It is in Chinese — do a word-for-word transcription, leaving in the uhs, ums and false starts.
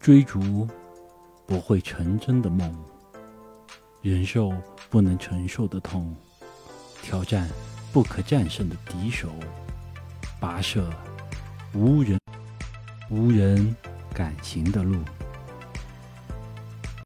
追逐不会成真的梦，忍受不能承受的痛，挑战不可战胜的敌手，跋涉无人无人敢行的路。